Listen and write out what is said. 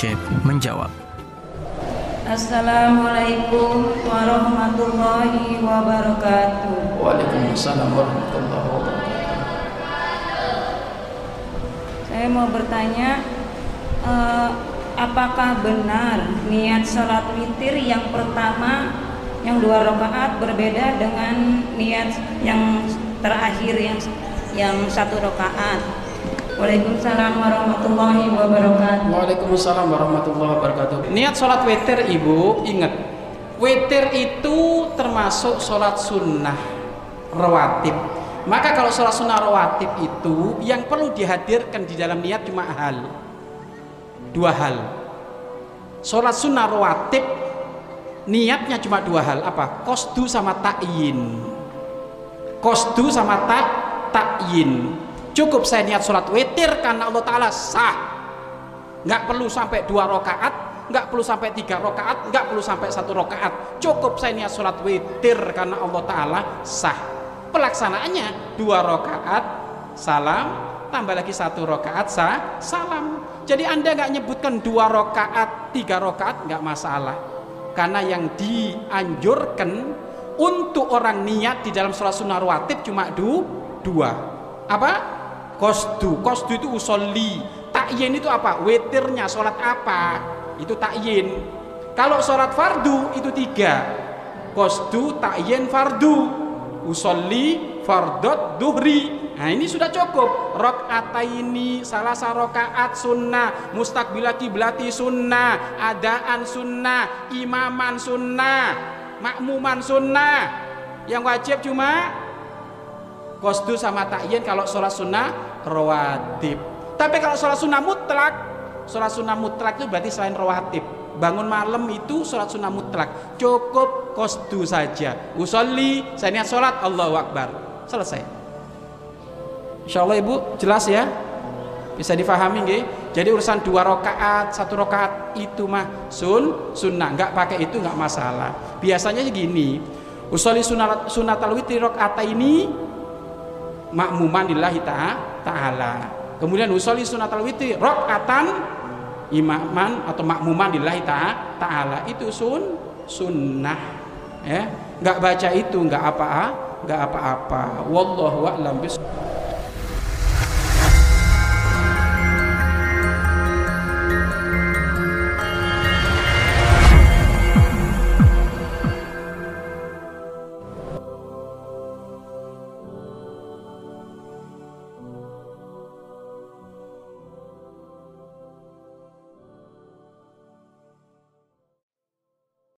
Syekh menjawab. Assalamualaikum warahmatullahi wabarakatuh. Waalaikumsalam warahmatullahi wabarakatuh. Saya mau bertanya, apakah benar niat sholat witir yang pertama yang 2 rakaat berbeda dengan niat yang terakhir yang 1 rakaat? Waalaikumsalam warahmatullahi wabarakatuh. Waalaikumsalam warahmatullahi wabarakatuh. Niat sholat witir, ibu ingat, witir itu termasuk sholat sunnah rawatib. Maka kalau sholat sunnah rawatib itu yang perlu dihadirkan di dalam niat cuma 2 hal. Sholat sunnah rawatib niatnya cuma 2 hal, apa? Qasdu sama ta'yin. Qasdu sama ta'yin. Cukup saya niat sholat witir karena Allah Ta'ala, sah. Nggak perlu sampai 2 rakaat, nggak perlu sampai 3 rakaat, nggak perlu sampai 1 rakaat. Cukup saya niat sholat witir karena Allah Ta'ala, sah. Pelaksanaannya 2 rakaat salam, tambah lagi 1 rakaat salam. Jadi Anda nggak nyebutkan 2 rakaat, 3 rakaat, nggak masalah. Karena yang dianjurkan untuk orang niat di dalam sholat sunnah rawatib cuma 2. Apa? Qasdu itu usolli. Ta'yin itu apa? Witirnya sholat apa? Itu ta'yin. Kalau sholat fardu itu 3. Qasdu, ta'yin, fardu. Usolli, fardot, duhri. Nah ini sudah cukup. Rakaataini, salah rakaat sunnah, mustaqbilah kiblati sunnah, adaan sunnah, imaman sunnah, makmuman sunnah. Yang wajib cuma qasdu sama ta'yin kalau sholat sunnah rawatib. Tapi kalau sholat sunnah mutlak itu berarti selain rawatib. Bangun malam itu sholat sunnah mutlak, cukup qasdu saja. Usolli, saya niat sholat, Allahu Akbar, selesai. Insyaallah ibu jelas ya, bisa difahami nggih? Jadi urusan 2 rakaat, 1 rakaat itu mah sunnah, nggak pakai itu nggak masalah. Biasanya gini, usolli sunnatal witri rakaataini makmuman lillahi ta'ala. Kemudian usolli sunnatal witri rakaatan imaman atau makmuman lillahi ta'ala. Itu sunnah ya. Enggak baca itu enggak apa-apa. Wallahu a'lam bishawab.